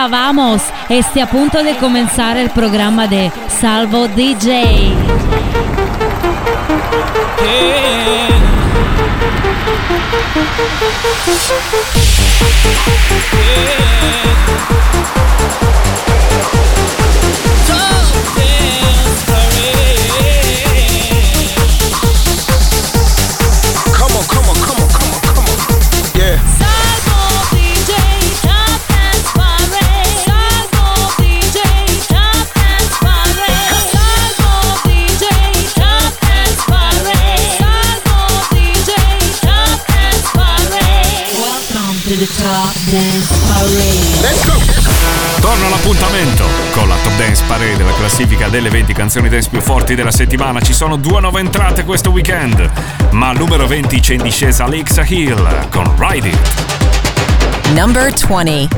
Hola, vamos. Este a punto de comenzar el programa de Salvo DJ. Torna l'appuntamento con la Top Dance Parade, la classifica delle 20 canzoni dance più forti della settimana. Ci sono 2 nuove entrate questo weekend, ma al numero 20 c'è in discesa Alexa Hill con Ride It. Number 20.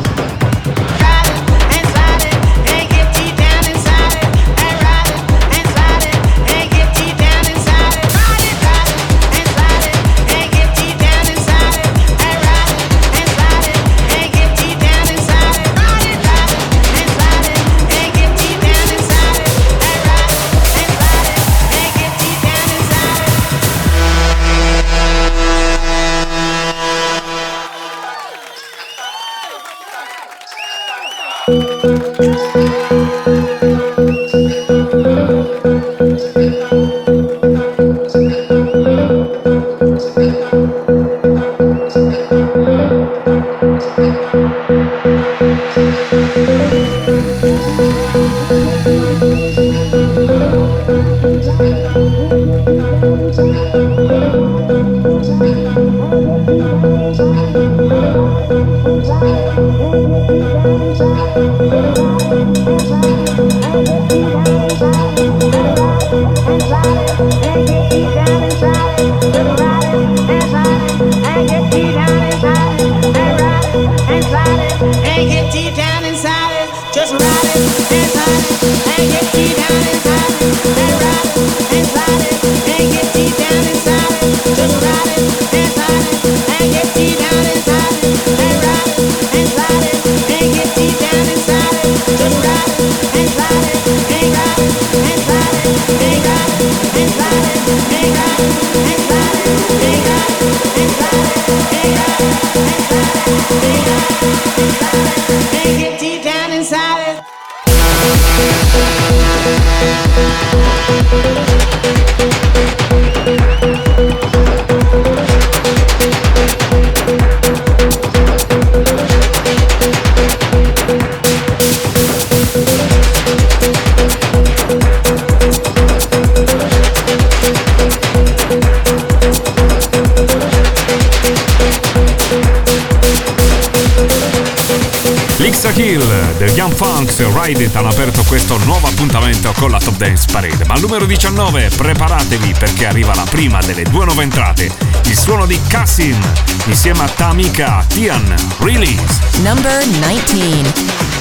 Young Funks e Ride It hanno aperto questo nuovo appuntamento con la Top Dance Parade. Ma al numero 19 preparatevi perché arriva la prima delle 2 nuove entrate, il suono di Cassin insieme a Tamika Tian, Release. Number 19.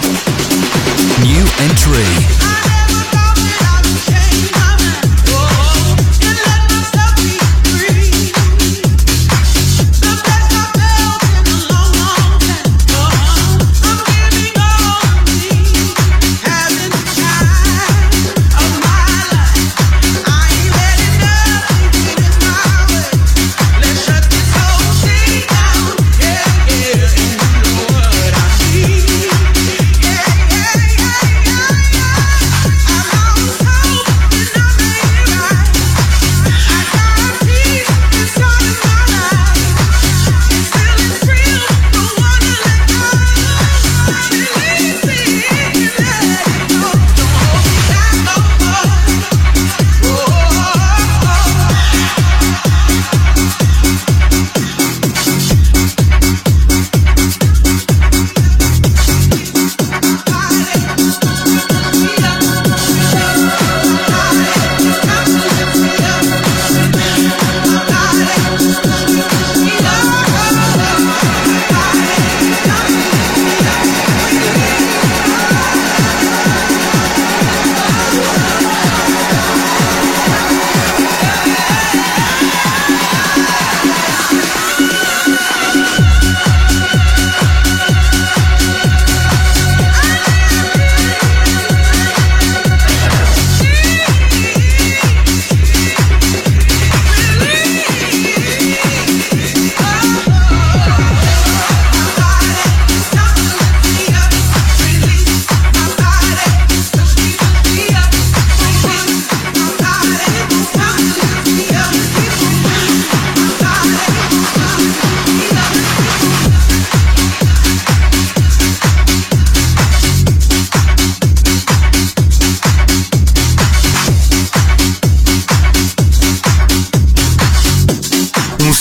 New entry.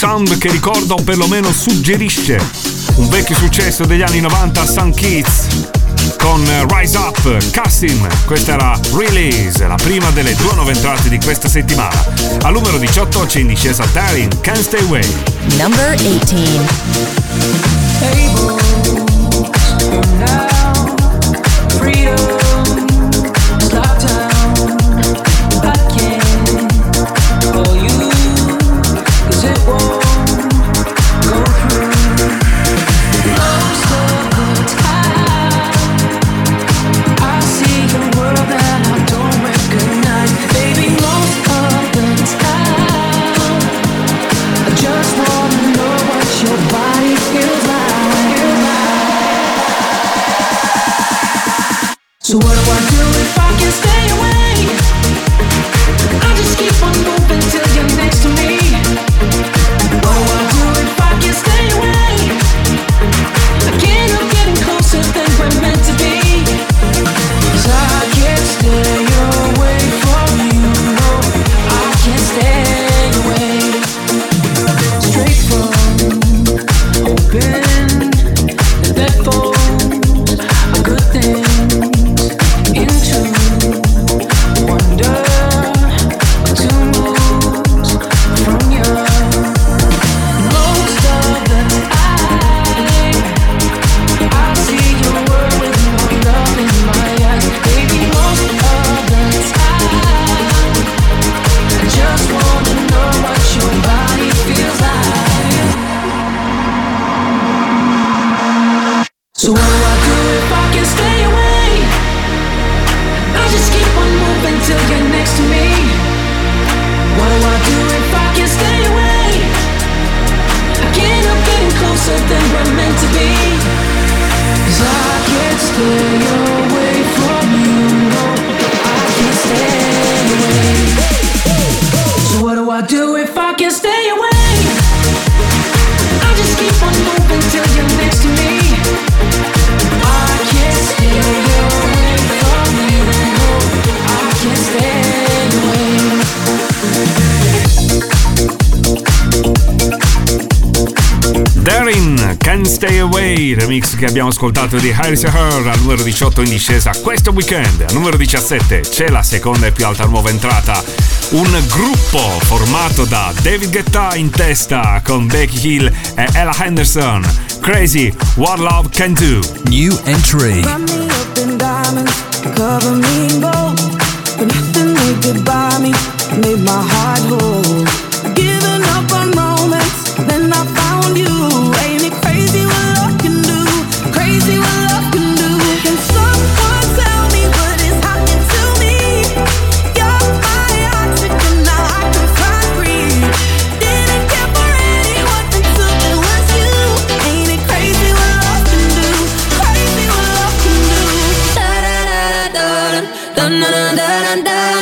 sound che ricorda o perlomeno suggerisce un vecchio successo degli anni 90, Sun Kids con Rise Up, Cassim. Questa era Release, la prima delle 2 nuove entrate di questa settimana. Al numero 18 c'è in discesa Darin, Can't Stay Away. Number 18. So what do I do if I can stay away? I just keep on moving till you're next to me. What do I do if I can stay away? I can't help getting closer than we're meant to be. 'Cause I can't stay away from you. No, I can't stay away. Straight from open the deadphones are good things. So what do I do if I can stay away? I just keep on moving till you're next to me. What do I do if I can stay away? I can't help getting closer than we're meant to be. 'Cause I can't stay away from you. No, I can't stay away. So what do I do if I can stay away? I just keep on moving till you're next to me. I can't stay away from you. No, I can't stay away. Darin, Can't Stay Away, remix che abbiamo ascoltato di Harris & Her, al numero 18 in discesa questo weekend. Al numero 17 c'è la seconda e più alta nuova entrata, un gruppo formato da David Guetta in testa con Becky Hill e Ella Henderson. Crazy, What Love Can Do. New entry. Wrap me up in diamonds, cover me in gold, but nothing they could buy me made my heart whole. Giving up on romance, then I found you. Ain't it crazy what love can do? Crazy what love can do. Can someone tell me what is happening to me? You're my oxygen, now I can find breathe. Didn't care for anyone until it was you. Ain't it crazy what love can do? Crazy what love can do. Da da da da da da da da da.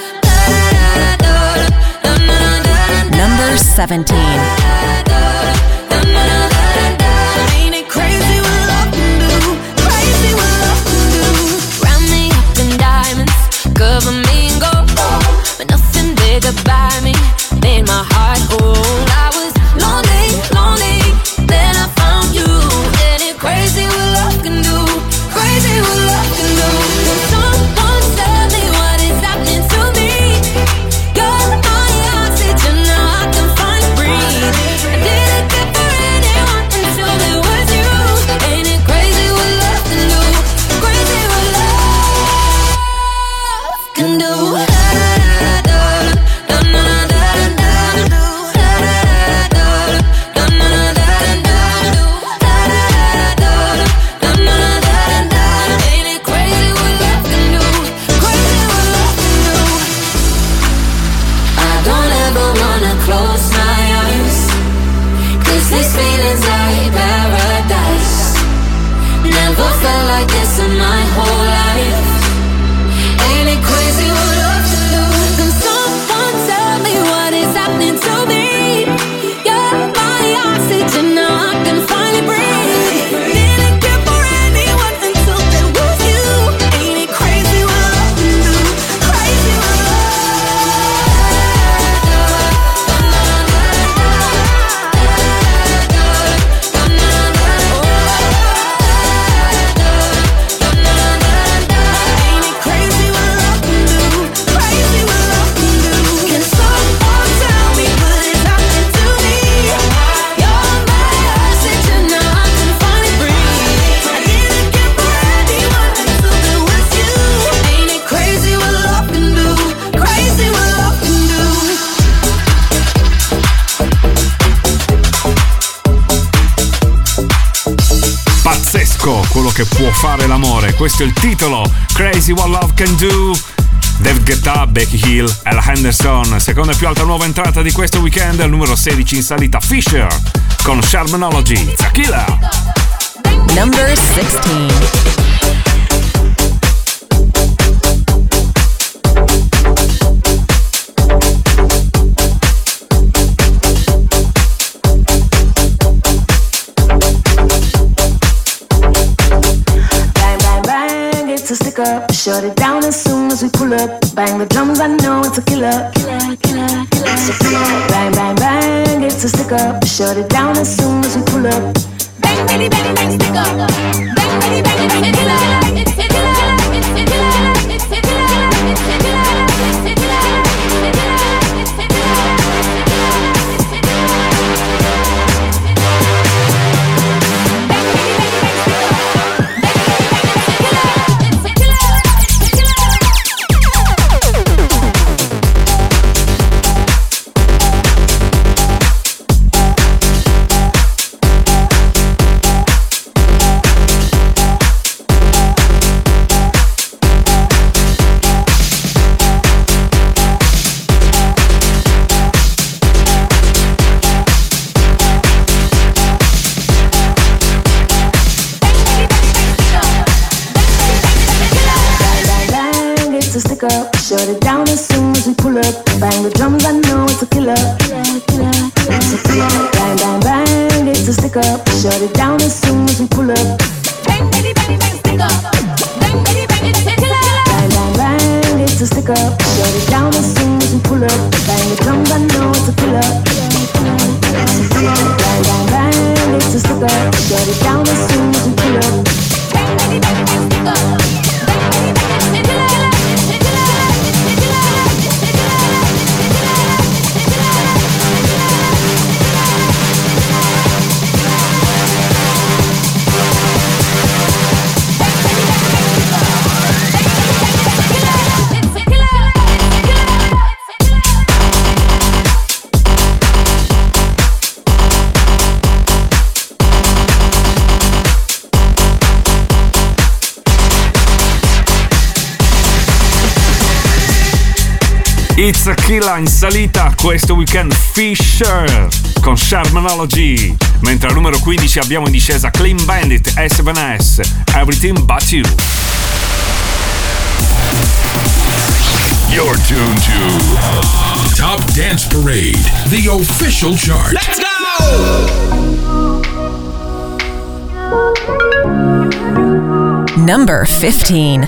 Number 17. Ain't it crazy what love can do? Crazy what love can do. Round me up in diamonds, cover me in gold, but nothing big about me made my heart whole. I was lonely, lonely, then I found you. Ain't it crazy what love can do? Crazy what love can do. Can someone tell me what is happening to me? You're my oxygen, now I can find breathe. I didn't care for anyone until it was you. Ain't it crazy what love can do? Crazy what love can do. These feelings like paradise. Never felt like this in my whole life. Ain't it crazy what love can do? Can someone tell me what is happening to me? You're my oxygen, now I can finally breathe. Didn't care for anyone until there was you. Ain't it crazy what love can do? Crazy what love. quello che può fare l'amore. Questo è il titolo, Crazy What Love Can Do. David Guetta, Becky Hill e la Henderson. Seconda e più alta nuova entrata di questo weekend, al numero 16 in salita Fisher con Sharmanology, Tequila. Number 16. To stick up, shut it down as soon as we pull up. Bang the drums, I know it's a killer. Killer, killer, killer. So bang, bang, bang, it's a stick up. Shut it down as soon as we pull up. Bang, bang, bang, bang, stick up. Bang, bang, bang, it's a killer. It's a killer. It's a killer. It's a killer. It's a killer. It's a killer. Up, shut it down as soon as we pull up. Bang the drums, I know it's a killer. Killer, killer, it's a killer. Bang, bang, bang, it's a stick up. Shut it down as soon as we pull up. Bang, bang, bang, bang, stick up. Bang, bang, bang, it's a killer. Bang, bang, bang, it's a stick up. Shut it down as soon as we pull up. Bang the drums, I know it's a killer. Bang, bang, bang, it's a stick up. Shut it down as soon as we pull up. Bang, bang, bang, bang, stick up. It's a Killer in salita questo weekend Fisher con Sharmanology, mentre al numero 15 abbiamo in discesa Clean Bandit S7S, Everything But You. You're tuned to Top Dance Parade, the official chart. Let's go! Number 15.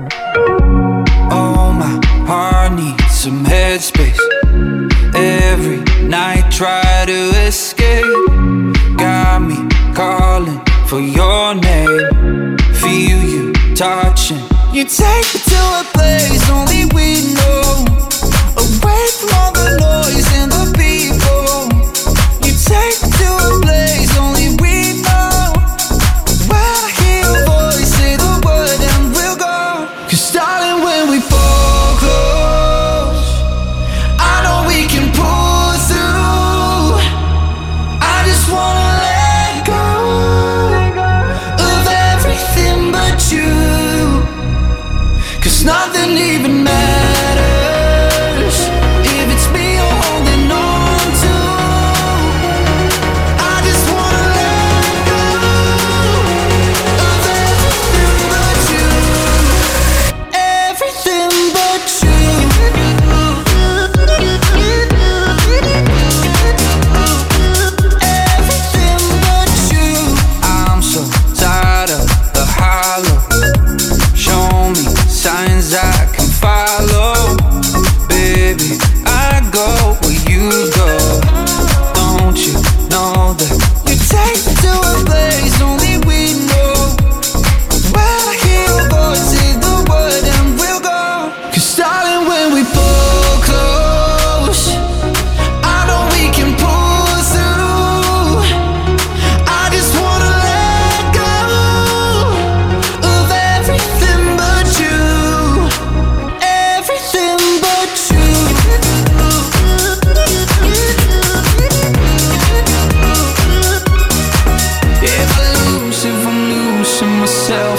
Oh, my heart needs some headspace. Every night try to escape. Got me calling for your name. Feel you touching. You take me to a place only we know. Away from all the noise and the people. You take me to a place only we know. When I hear your voice, say the word and we'll go. 'Cause darling, when we fall close, I know we can pull through. I just wanna let go of everything but you. 'Cause nothing even matters if it's me or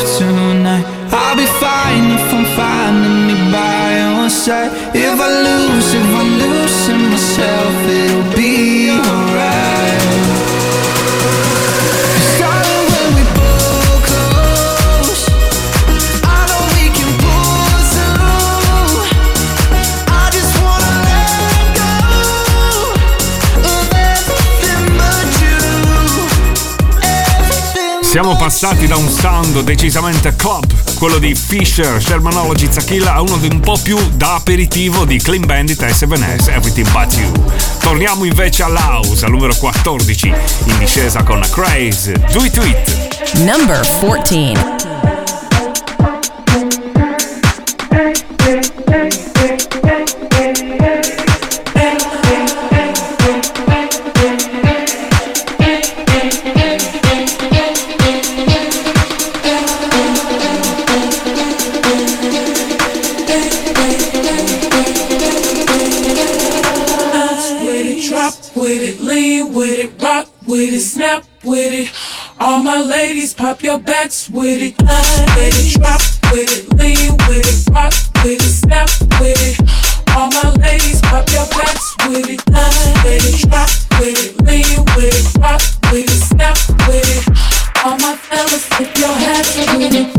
tonight. I'll be fine if I'm finding me by your side. If I'm losing myself, it'll be alright. Starting when we both close, I know we can pull through. I just wanna let go of everything but you. Everything. Siamo passati da un sound decisamente club, quello di Fisher, Shermanology, Zakilla, a uno un po' più da aperitivo di Clean Bandit e 7S, Everything But You. Torniamo invece all'house, al numero 14, in discesa con Craze, Do It To It. Number 14. Snap with it, all my ladies pop your backs with it. With it, drop with it, lean with it, rock with it, snap with it. All my ladies pop your backs with it. With it, drop with it, lean with it, rock with it, snap with it. All my fellas, tip your hats with it.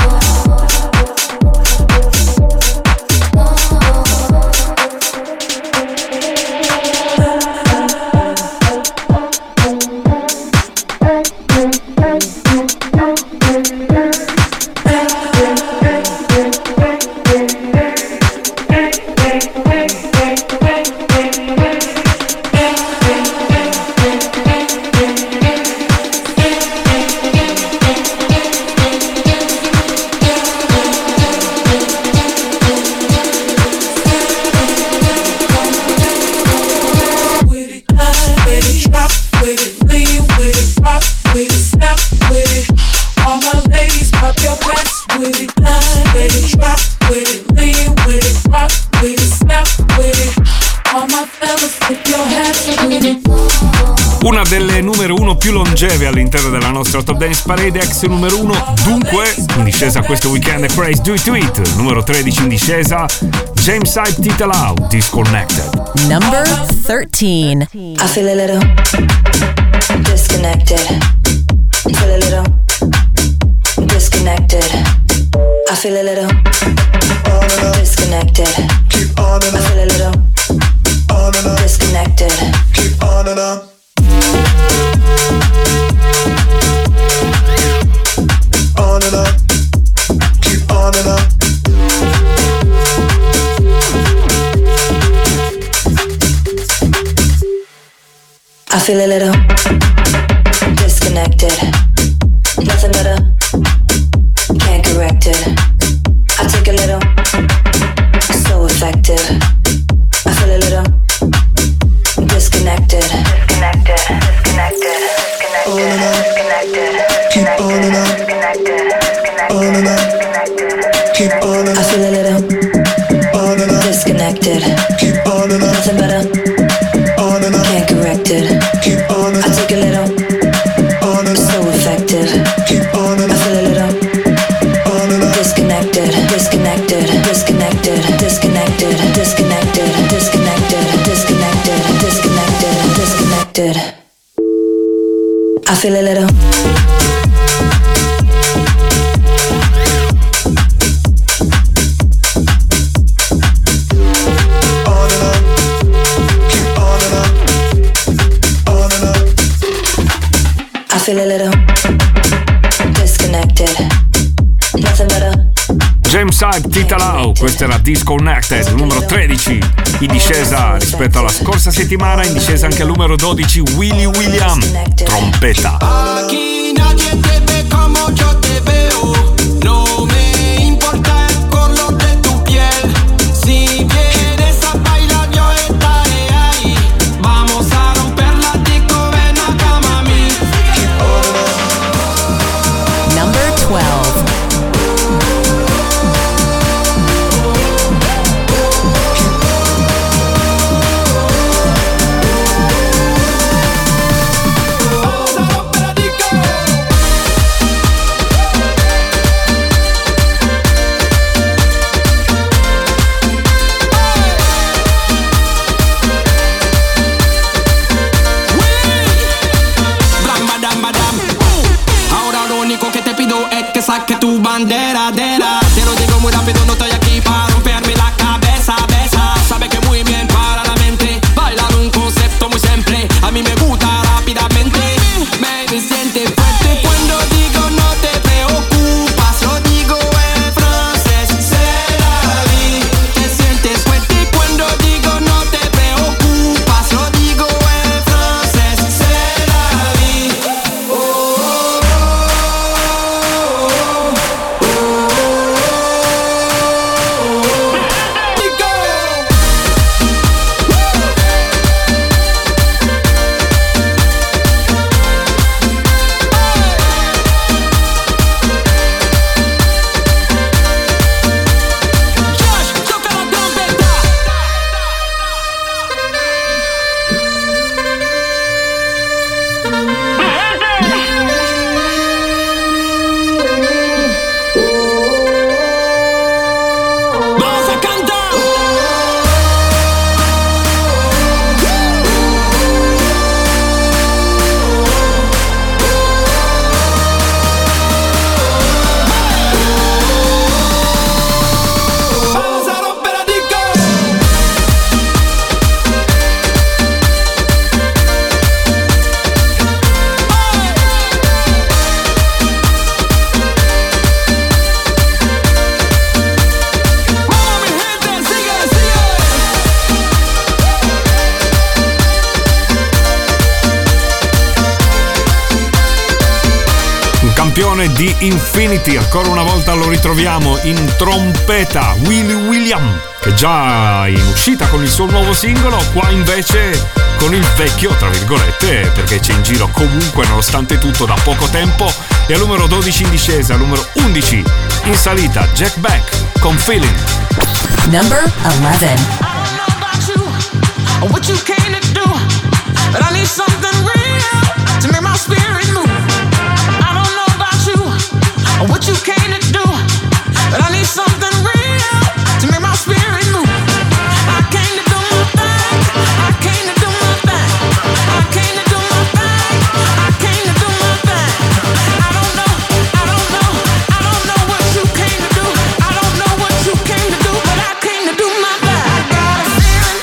Una delle numero 1 più longeve all'interno della nostra Top Dance Parade, ex numero 1, dunque in discesa questo weekend è Craze, Do It To It. Numero 13 in discesa, James Hype, Tita Lau, Disconnected. Number 13. I feel a little disconnected. Feel a little disconnected. I feel a little disconnected. I feel a little disconnected. Keep on and on. On and on. Keep on and on. I feel a little disconnected. Nothing better, can't correct it. I take a little, so effective. I feel a little disconnected. Disconnected, disconnected, disconnected, disconnected. Keep on and on. On and on. Keep on and on. I feel a little On and on. disconnected. Keep on and on. Nothing better, On and on. can't correct it. Keep on and I on. take a little, On and on. so effective. Keep on and I on. feel a little On and on. disconnected, disconnected, disconnected, disconnected, disconnected, disconnected, disconnected, disconnected, disconnected. I feel a little. On and on. Keep on and on. On and on. I feel a little disconnected. Nothing better. James Hype, Tita Lau, questa era Disconnected, numero 13, in discesa rispetto alla scorsa settimana, in discesa anche al numero 12 Willy William, trompeta. Aquí nadie te ve como yo te veo. No me importa el color de tu piel. Si vienes a bailar yo estaré ahí. Vamos a romper la disco, ven acá mami. Number 12. Vamos a romper la disco. bandera, dera. Te lo digo muy rápido, no estoy aquí para romperme la cabeza, besa. Sabe que muy bien para la mente bailar un concepto muy simple. A mí me gusta rápidamente. Baby, siente fuerte cuando digo no te preocupas. Lo digo en francés, c'est la vie. Te sientes fuerte cuando digo no te preocupas. Lo digo en francés, c'est la vie. Di Infinity, ancora una volta lo ritroviamo in trompeta, Willy William, che già in uscita con il suo nuovo singolo, qua invece con il vecchio, tra virgolette, perché c'è in giro comunque nonostante tutto da poco tempo, e al numero 12 in discesa, al numero 11 in salita, Jack Beck con Feeling. Number 11. I don't know about you or what you came to do, but I need something real to make my spirit move. I don't know about you or what you came to do, but I need something real to make my spirit move. I came to do my thing. I came to do my thing. I came to do my thing. I came to do my thing. I don't know what you came to do. I don't know what you came to do, but I came to do my thing. I got a feeling.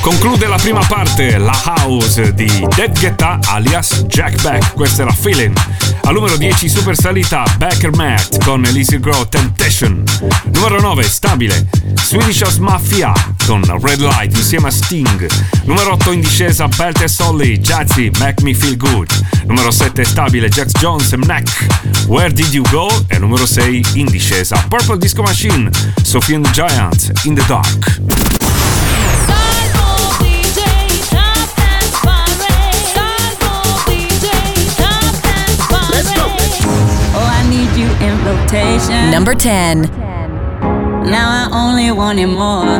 Conclude la prima parte la house di David Guetta alias Jack Beck, questa era Feeling. Al numero 10 super salita Becker Matt con Elise Grow Temptation. Numero 9 stabile Swedish House Mafia con Red Light insieme a Sting. Numero 8 in discesa Belt e Solly Jazzy Make Me Feel Good. Numero 7 stabile Jax Jones e Mnek Where Did You Go. E numero 6 in discesa Purple Disco Machine Sophie and the Giants In the Dark. In rotation. Number 10. Now I only wanted more.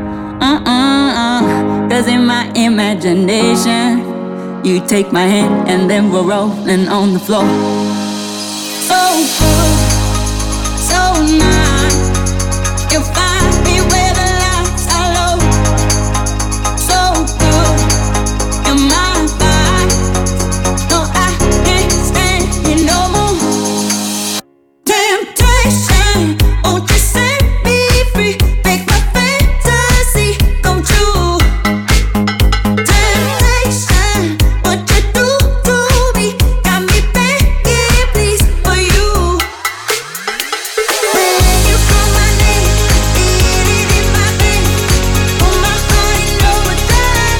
Cause in my imagination, you take my hand and then we're rolling on the floor. So good, so nice. You find me where the lights are low. So good, you're my vibe. No, I can't stand you no more. Temptation, won't you set me free? Make my fantasy come true. Temptation, what you do to me got me begging, please, for you. When you call my name, feel it in my veins. Put my heart in overdrive.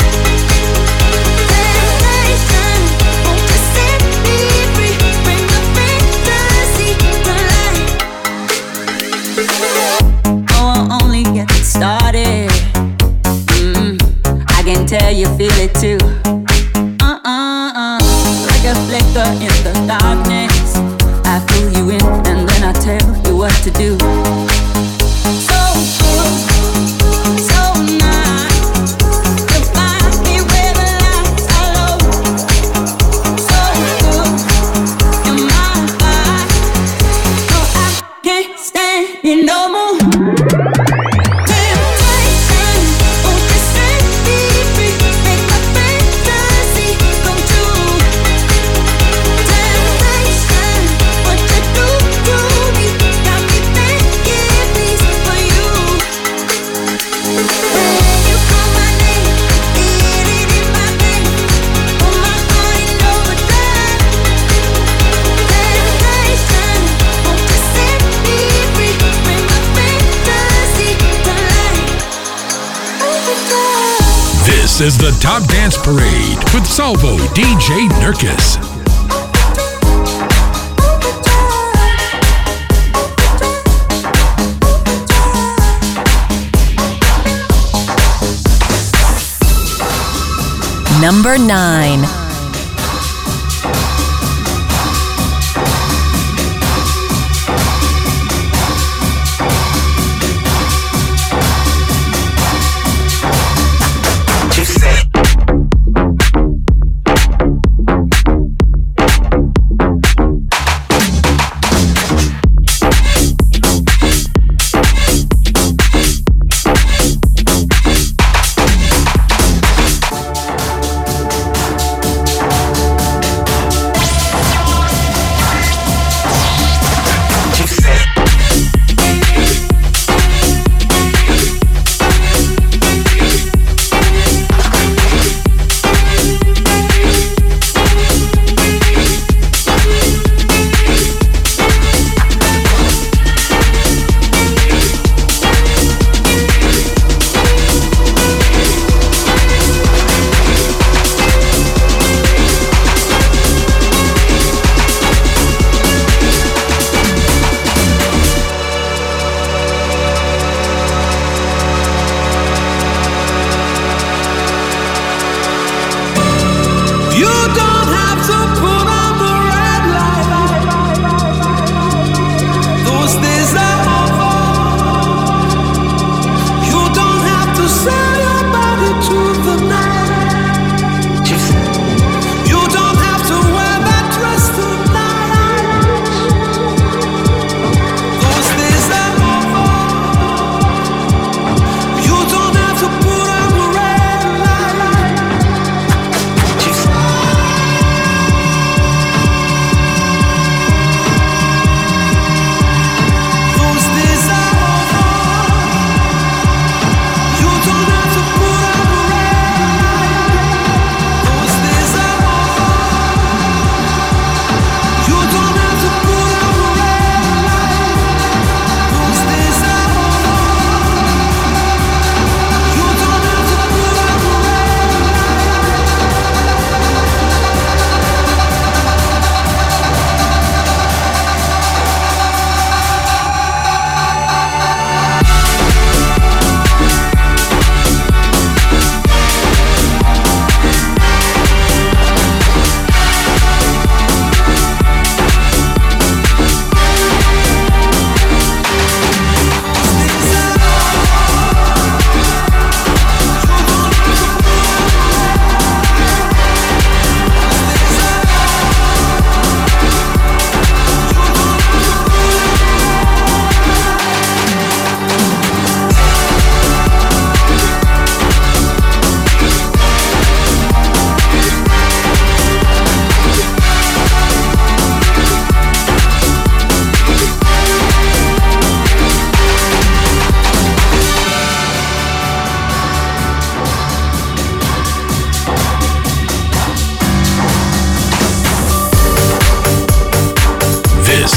Temptation, won't you set me free? Bring my fantasy to life. Oh, I'll only get started. I can tell you feel it too. Like a flicker in the darkness. I pull you in and then I tell you what to do. So good, so nice. You find me where the lights are low. So good, you're my vibe. No, I can't stand you no more. Temptation, won't you set me free? Make my fantasy come true. Temptation, what you do to me got me begging, please, for you. When you call my name, feel it in my veins. Put my heart in overdrive. Temptation, won't you set me free? Bring my fantasy to life. Overdrive. This is the Top Dance Parade with Salvo DJ Nurkis. Number 9.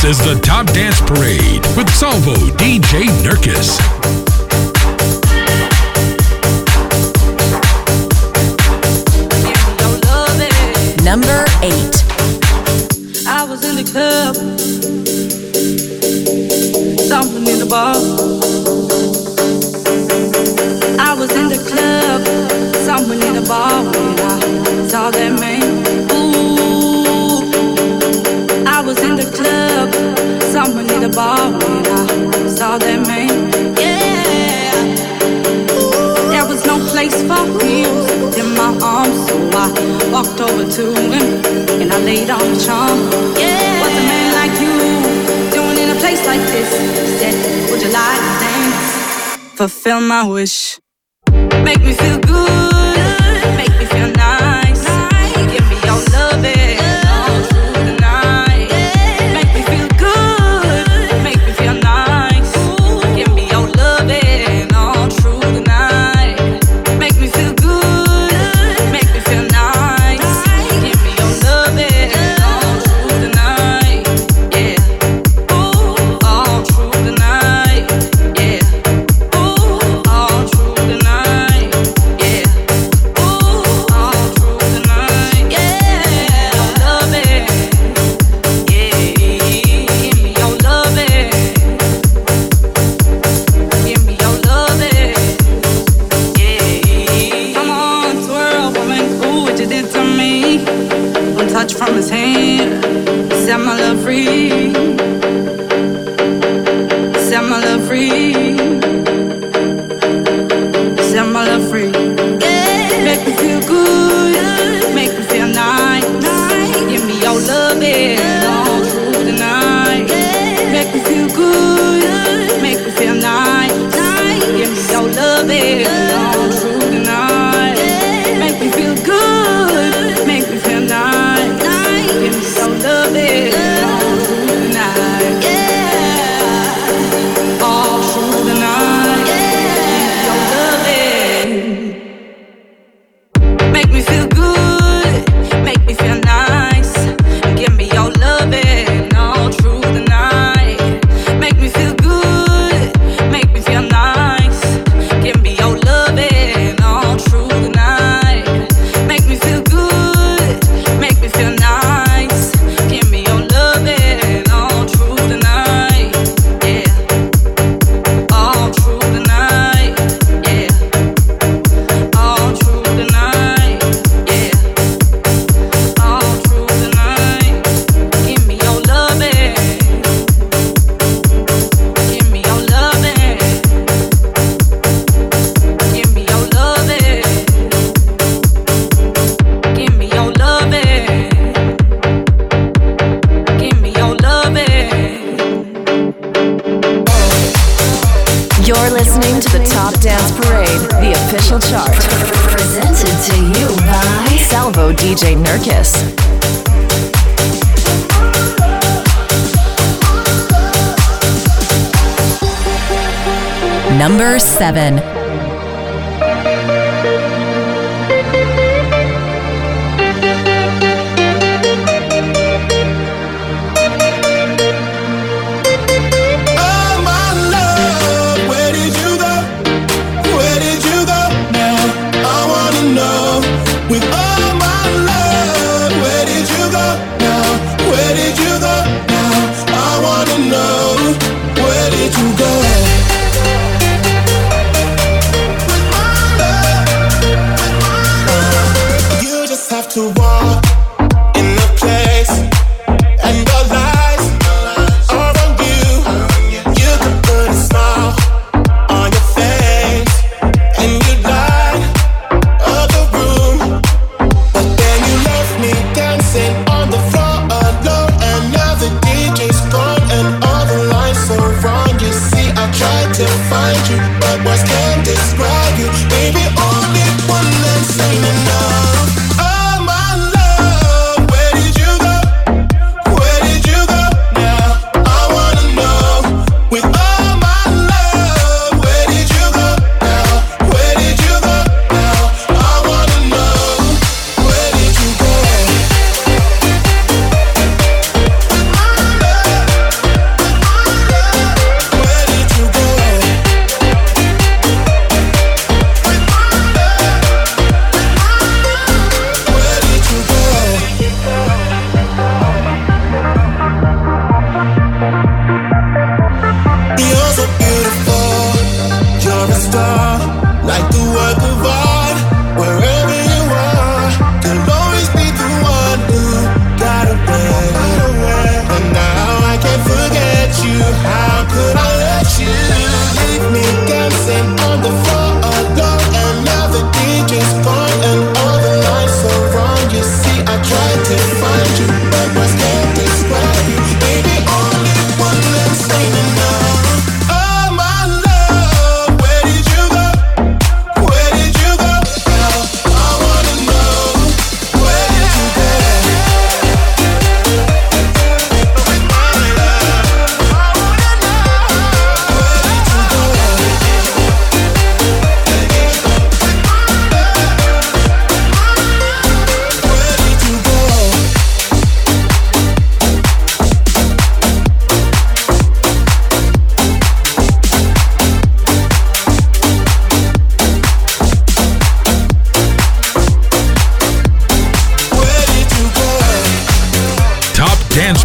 is the Top Dance Parade with Salvo DJ Nurkis. Number 8. I was in the club, something in the bar. I was in the club, something in the bar when I saw that man. Ooh, I was in the club, something in the bar when I saw that man. Yeah, there was no place for him in my arms, so I walked over to him and I laid on the charm. Yeah, what's a man like you doing in a place like this? He said, would you like to dance? Fulfill my wish. Make me feel good, make me feel nice. Give me your loving all through the night. Make me feel good, make me feel nice. Give me your loving all through the night. Make me feel good, make me feel nice. Give me your loving all through the night. Yeah, ooh, all through the night. Yeah, ooh, all through the night. Yeah, ooh, all through the night. Yeah, your loving. Yeah, give me your loving. Give me your loving. Yeah, come on, twirl, woman, ooh, what you did to me. One touch from his hand, set my love free. Set my love free. Set my love free. Yeah, make me feel good, make me feel nice. Give me your loving all through the night. Make me feel good, make me feel nice. Give me your loving all through the night. Make me feel good, make me feel nice. Give me your loving all through the night. Yeah, all through the night. Your loving. Make me feel good, make me feel nice. Give me your loving all through the night. Make me feel good, make me feel nice. Give me your loving all through the night. Make me feel good, make me feel nice. Give me your loving all through the night. Yeah, all through the night. Yeah, all through the night. Yeah, all through the night. Give me your loving. Give me your loving. Give me your loving. Give me your loving. Give me your loving. You're listening to the Top Dance Parade, the official chart. Presented to you by Salvo DJ Nurkis. Number 7. Oh my love, where did you go? Where did you go now? I wanna know. With all my love, where did you go now? Where did you go now? I wanna know. Where did you go? With my love, you just have to walk in the place, and the lights are on you. You can put a smile on your face, and you light up the room. But then you left me dancing on the floor alone, and now the DJ's gone, and all the lights are wrong. You see, I tried to find you, but words can't describe you. Baby, only one that's ain't enough. Oh my love, where did you go? Where did you go now? I wanna know. With all my love, where did you go now? Where did you go now? I wanna know. Where did you go? With my love,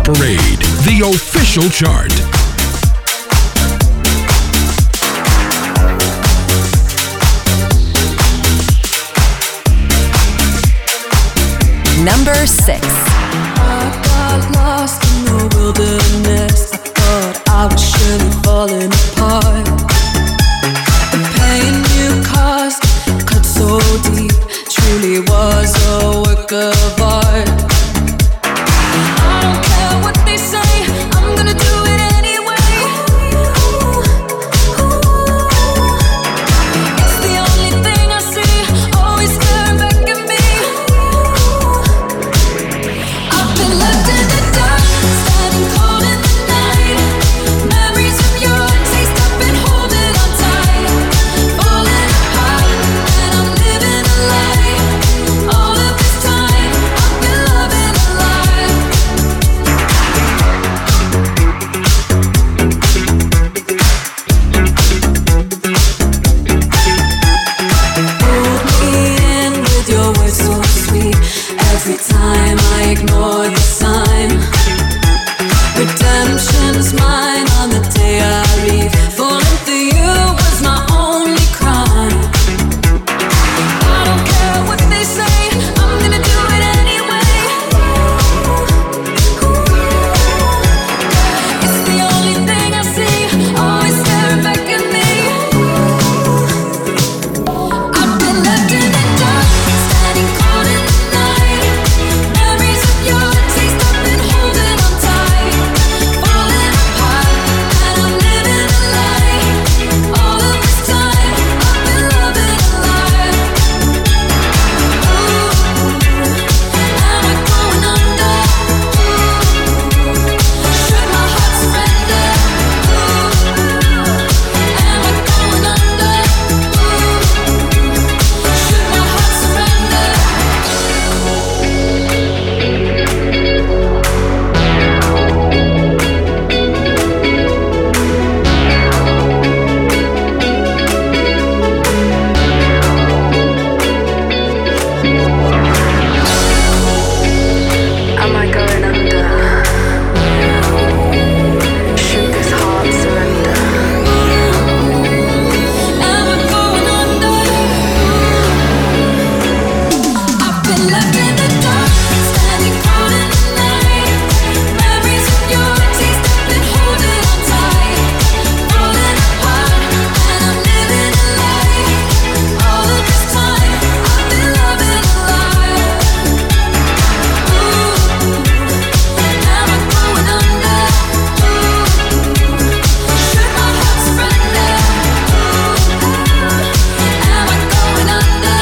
Parade, the official chart. Number 6. I got lost in the wilderness. I thought I was surely falling apart. The pain you caused cut so deep, truly was a work of art. I don't care what they say, I'm gonna do it anyway. It's the only thing I see, always staring back at me. I've been left in the dark, standing cold in the night. Memories of your taste, I've been holding on tight. Falling apart, and I'm living a lie. All of this time, I've been loving a lie. Hold me in with your words so sweet. Every time I ignore the sign. Redemption's mine on the day I leave. Falling for you was my only crime. I don't care what they say, I'm gonna do it anyway. It's the only thing I see, always staring back at me. I've been left in the dark, standing cold in the night. Memories of your taste, I've been holding on tight. Falling apart, and I'm living a lie. All of this time, I've been loving a lie. Am I going under? Should my heart surrender? Am I going under? Should my heart surrender? Am I going under? Should this heart surrender? Am I going under? I've been left in the dark, standing cold in the night. Memories of your taste, I've been holding on tight. Falling apart, and I'm living a lie. All of this time, I've been loving a lie. Am I going under? Should my heart surrender? Am I going under?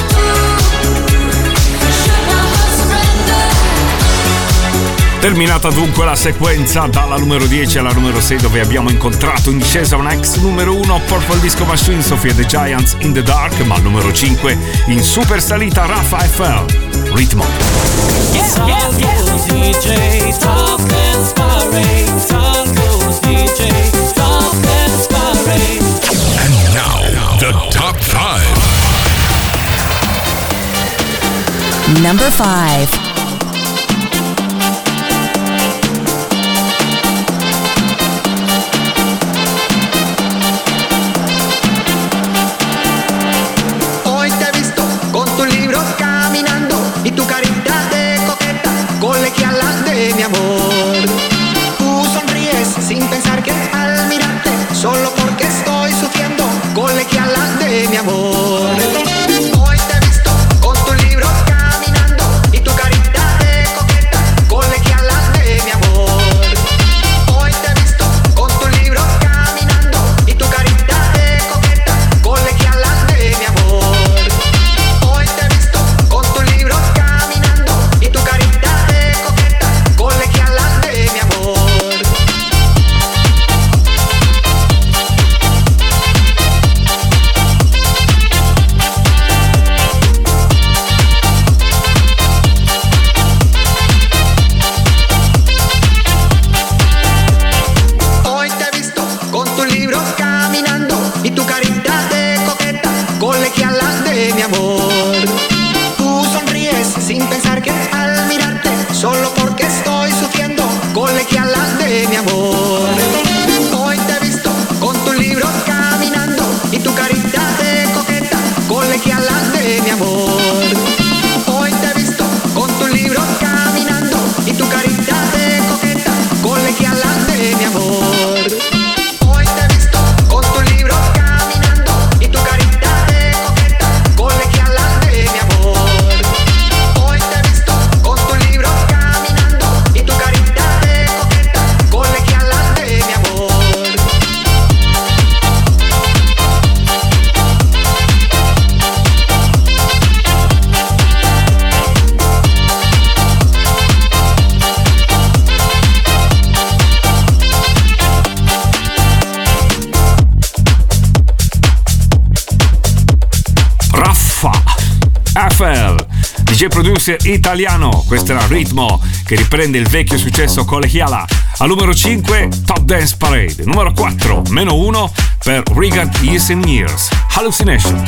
Should my heart surrender? Terminata dunque la sequenza dalla numero 10 alla numero 6, dove abbiamo incontrato in discesa una ex numero 1, Purple Disco Machine, Sophia the Giants, In the Dark, ma al numero 5 in super salita Rafa FL, Ritmo. DJ, Top Dance Parade. Salvo's DJ, Top Dance Parade. And now, the top 5. Number 5. Hoy te he visto con tu libro caminando y tu carita de coqueta colegiala de mi amor. Tú sonríes sin pensar que al mirarte, solo porque estoy sufriendo, colegiala de mi amor. Hoy te he visto con tu libro caminando y tu carita DJ producer italiano. Questo era Ritmo, che riprende il vecchio successo Colegiala. Al numero 5 Top Dance Parade. Numero 4 -1 per Regard Years and Years, Hallucination.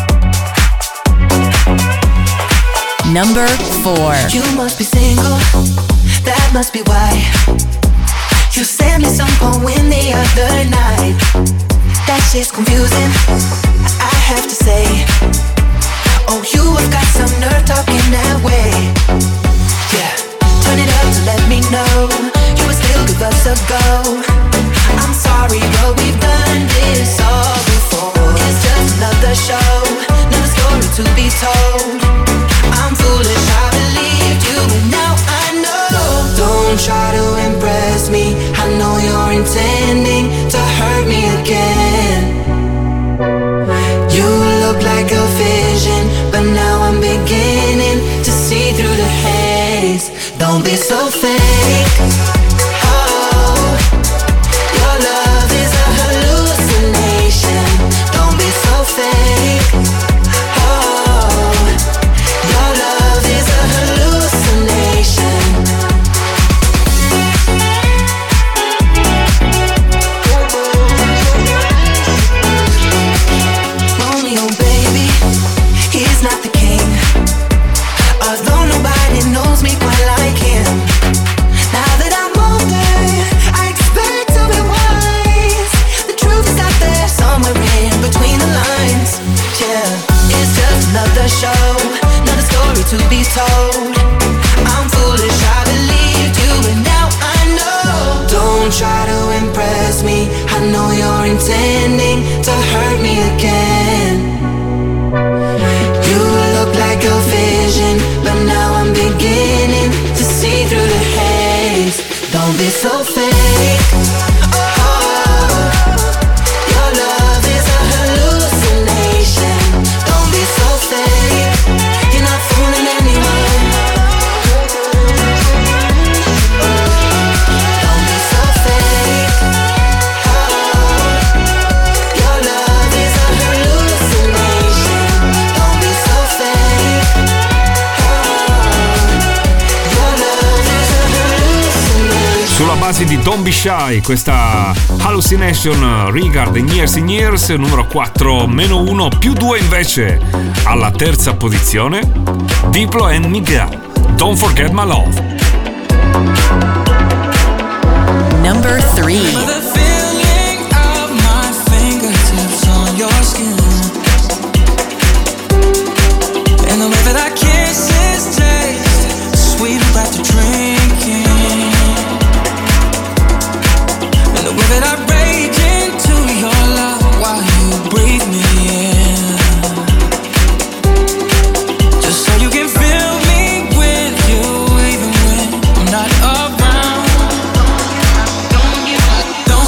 Number 4. You must be single, that must be why you sent me some poem the other night. That shit's confusing, I have to say. Oh, you have got some nerve talking that way. Yeah, turn it up to let me know you would still give us a go. I'm sorry, but we've done this all before. It's just another show, another story to be told. I'm foolish, I believed you, but now I know. Don't try to impress me, I know you're intending to hurt me again. You look like a vision, but now I'm beginning to see through the haze. Don't be so fake. Oh, your love is a hallucination. Don't be so fake. Oh, your love is a hallucination. Romeo, baby, he's not the king. Although nobody knows me quite like him. Now that I'm older, I expect to be wise. The truth is out there somewhere in between the lines. Yeah, it's just another show, another story to be told. I'm foolish, I believed you, but now I know. Don't try to impress me, I know you're intending to hurt me again. You look like a vision, but now I'm beginning to see through the haze. Don't be so fake. Oh, your love is a hallucination. Don't be so fake. You're not fooling anyone. Don't be so fake. Oh, your love is a hallucination. Don't be so fake. Your love is a hallucination. Sulla base di Don't Be Shy, questa Hallucination, Regard Years and Years, numero 4 -1 +2 invece alla terza posizione Diplo and Miguel, Don't Forget My Love. Number 3. The feeling of my fingertips on your skin, and the way that our kisses taste sweet after drinking, and the way that I break into your love while you breathe me in, just so you can fill me with you even when I'm not around. Don't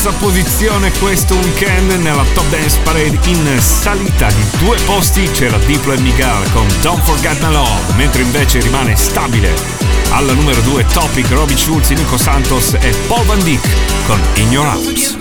terza posizione questo weekend nella Top Dance Parade. In salita di 2 posti c'era Diplo e Miguel con Don't Forget My Love, mentre invece rimane stabile alla numero 2 Topic, Robbie Schulz, Nico Santos e Paul Van Dyk con In Your Arms.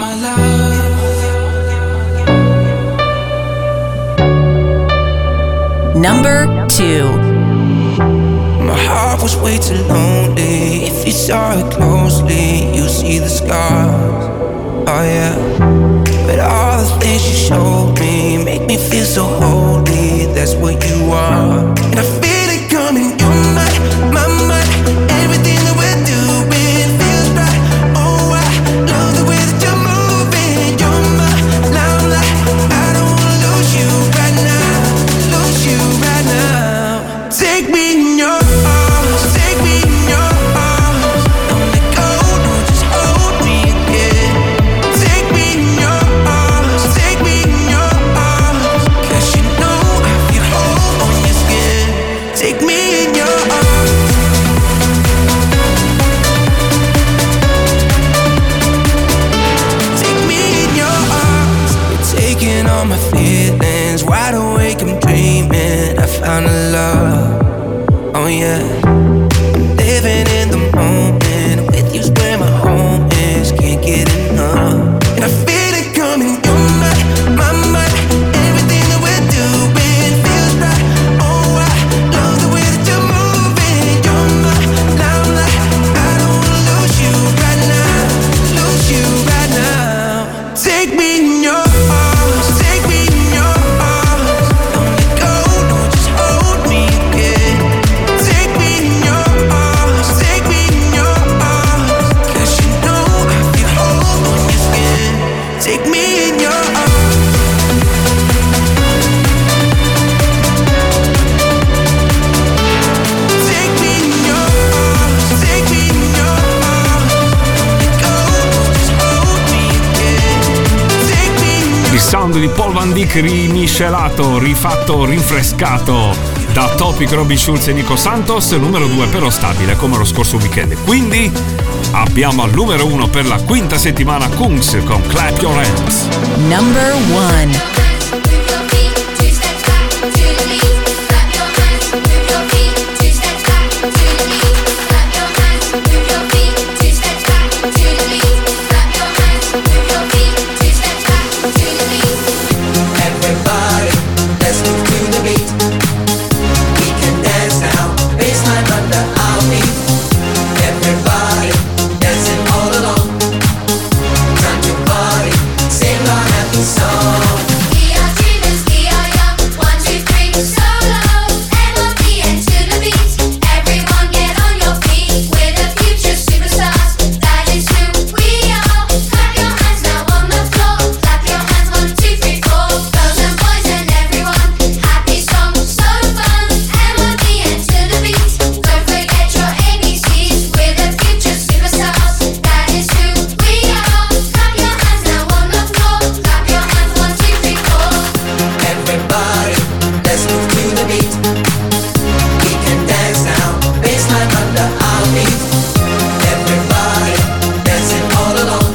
Number 2. My heart was way too lonely. If you saw it closely, you'll see the scars. Oh yeah. But all the things you showed me make me feel so holy. That's what you are. And I feel it coming. You're my mind. Everything that we're doing feels right. Oh, I love the way that you're moving. You're my limelight. I don't wanna lose you right now. Lose you right now. Take me in your arms. Take me in your arms. Don't let go. No, just hold me again. Take me in your arms. Take me in your arms. 'Cause you know I feel whole on your skin. Take me in your arms. Take me in your arms. You're taking all my feelings. Wide awake, I'm dreaming. I found a love. Oh yeah. I'm living in the moment. With you's where my home is. Can't get enough. And I feel it coming. You're my mind. Everything that we're doing feels right. Oh, I love the way that you're moving. You're my limelight. I don't wanna lose you right now. Lose you right now. Take me in your arms. Take me in your arms. Don't let go. No, just hold me again. Take me in your arms. Take me in your arms. 'Cause you know I feel whole on your skin. Take me in your arms. Take me in your arms. Take me in your arms. Don't let go. No, just hold me again. Take me in your Il sound di Paul Van Dyk rimiscelato, rifatto, rinfrescato da Topic, Robbie Schulz e Nico Santos, numero 2 però stabile come lo scorso weekend. Quindi abbiamo al numero 1 per la quinta settimana Kungs con Clap Your Hands. Number 1. Everybody, let's move to the beat. We can dance now, baseline under our feet. Everybody, dancing all along. Time to party, sing our happy song. We are dreamers, we are young. 1, 2, 3, solo. M-O-P-N to the beat. Everyone get on your feet. We're the future superstars. That is who we are. Clap your hands now on the floor. Clap your hands, 1, 2, 3, 4. Girls and boys and everyone. Happy song, so fun. M-O-P-N to the beat. Don't forget your ABCs. We're the future superstars. That is who we are. Clap your hands now on the floor. Clap your hands, 1, 2, 3, 4. Everybody, let's move to the beat. We can dance now, baseline under our feet. Everybody, dancing all along.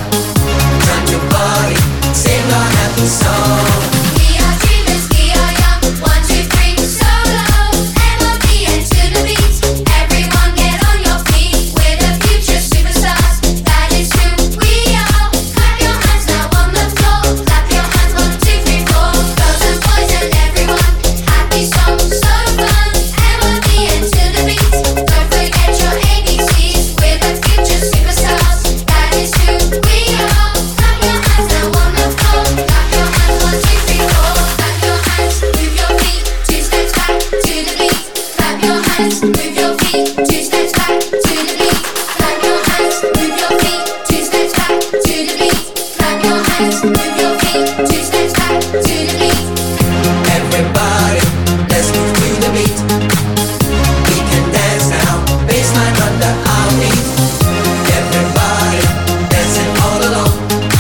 Time to party, sing our happy song. We are dreamers, we are young. 1, 2, 3, solo. M-O-P-N to the beat. Everyone get on your feet. We're the future superstars. That is who we are. Clap your hands now on the floor. Clap your hands, 1, 2, 3, 4. Girls and boys and everyone. Happy song, so fun. M-O-P-N to the beat. Don't forget your ABCs. We're the future superstars. That is who we are. Clap your hands now on the floor. Clap your hands, 1, 2, 3, 4. Clap your hands, move your feet. 2 steps back to the beat. Clap your hands, move your feet. 2 steps back to the beat. Clap your hands, move your feet. 2 steps back to the beat. Clap your hands, move your feet. 2 steps back to the beat. Everybody, let's move to the beat. We can dance now, baseline under our feet. Everybody, dancing all along.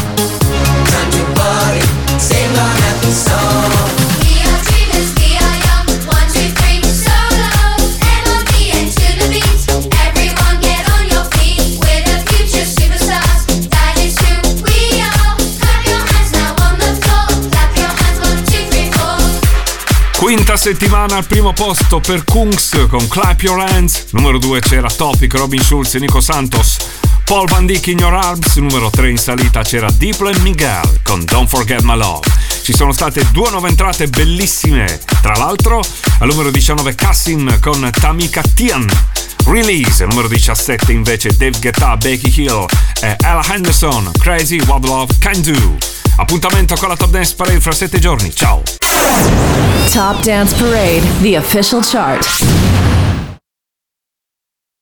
Time to party, sing our happy song. We are dreamers, we are young. 1, 2, 3, solo. M-O-P-N Quinta settimana al primo posto per Kungs con Clap Your Hands. Numero 2 c'era Topic, Robin Schulz e Nico Santos. Paul Van Dyk, In Your Arms. Numero 3 in salita c'era Diplo e Miguel con Don't Forget My Love. Ci sono state 2 nuove entrate bellissime. Tra l'altro, al numero 19 Kassim con Tamika Tian. Release, numero 17 invece Dave Guetta, Becky Hill e Ella Henderson, Crazy What Love Can Do. Appuntamento con la Top Dance Parade fra 7 giorni. Ciao! Top Dance Parade, the official chart.